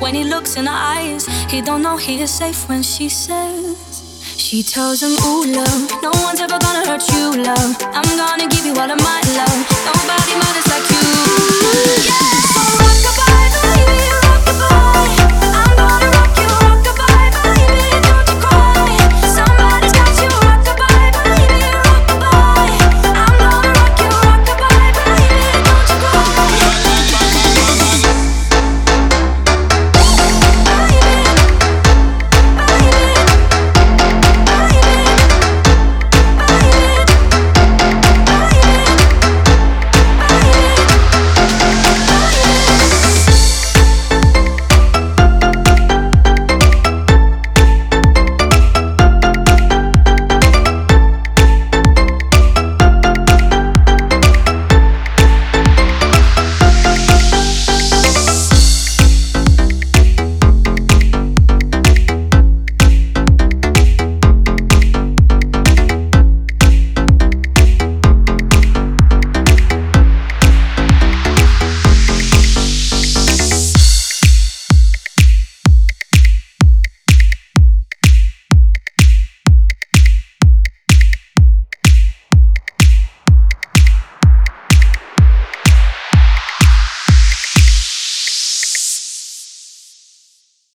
When he looks in her eyes, he don't know he is safe when she says. She tells him, ooh, love, no one's ever gonna hurt you, love. I'm gonna give you all of my love. Nobody matters like you. Yeah!